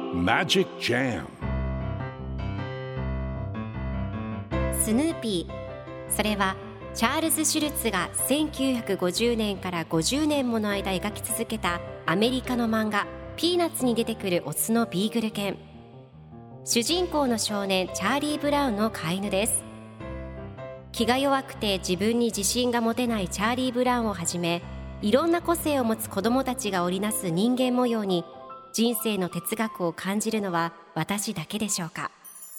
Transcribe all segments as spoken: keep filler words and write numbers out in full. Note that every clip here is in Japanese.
Magic Jam スヌーピー、それはチャールズ・シュルツがせんきゅうひゃくごじゅうねんからごじゅうねんもの間描き続けたアメリカの漫画ピーナッツに出てくるオスのビーグル犬。主人公の少年チャーリー・ブラウンの飼い犬です。気が弱くて自分に自信が持てないチャーリー・ブラウンをはじめ、いろんな個性を持つ子どもたちが織りなす人間模様に人生の哲学を感じるのは私だけでしょうか。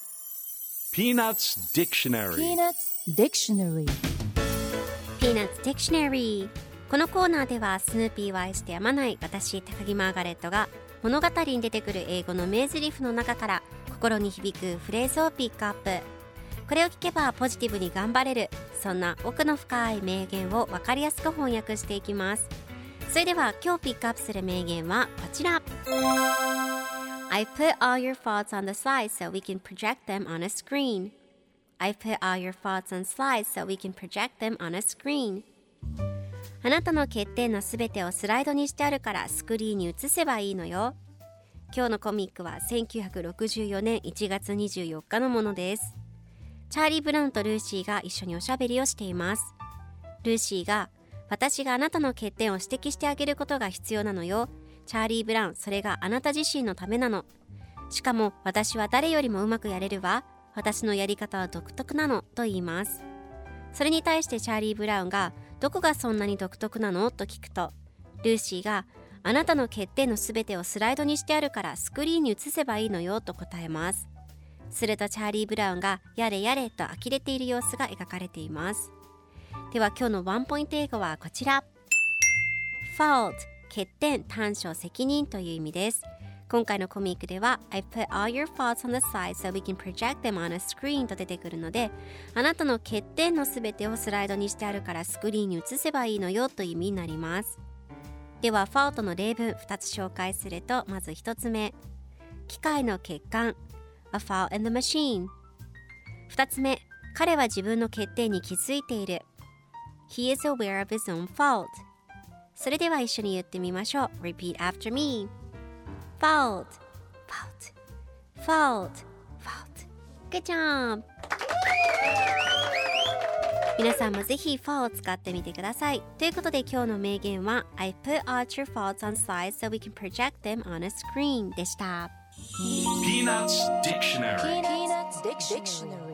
Peanuts Dictionary Peanuts Dictionary Peanuts Dictionary。 このコーナーではスヌーピーを愛してやまない私高木マーガレットが物語に出てくる英語の名台詞の中から心に響くフレーズをピックアップ。これを聞けばポジティブに頑張れる、そんな奥の深い名言を分かりやすく翻訳していきます。それでは今日ピックアップする名言はこちら。 I put all your faults on the slide so we can project them on a screen. I put all your faults on slides so we can project them on a screen. あなたの欠点のすべてをスライドにしてあるからスクリーンに映せばいいのよ。今日のコミックはせんきゅうひゃくろくじゅうよねんいちがつにじゅうよっかのものです。チャーリー・ブラウンとルーシーが一緒におしゃべりをしています。ルーシーが、私があなたの欠点を指摘してあげることが必要なのよ。チャーリー・ブラウン、それがあなた自身のためなの。しかも私は誰よりもうまくやれるわ。私のやり方は独特なのと言います。それに対してチャーリー・ブラウンが、どこがそんなに独特なのと聞くと、ルーシーが、あなたの欠点のすべてをスライドにしてあるからスクリーンに映せばいいのよと答えます。するとチャーリー・ブラウンがやれやれと呆れている様子が描かれています。では今日のワンポイント英語はこちら。 fault 欠点、短所、責任という意味です。今回のコミックでは I put all your faults on the slide so we can project them on a screen と出てくるので、あなたの欠点のすべてをスライドにしてあるからスクリーンに映せばいいのよという意味になります。では fault の例文ふたつ紹介すると、まずひとつめ、機械の欠陥A fault in the machine。 二つ目、彼は自分の欠点に気づいている。 He is aware of his own fault。 それでは一緒に言ってみましょう。 Repeat after me。 Fault Fault Fault Fault Good job。 皆さんもぜひ fault を使ってみてください。ということで今日の名言は I put all your faults on slides so we can project them on a screen でした。 Peanuts Dictionary Peanuts Dictionary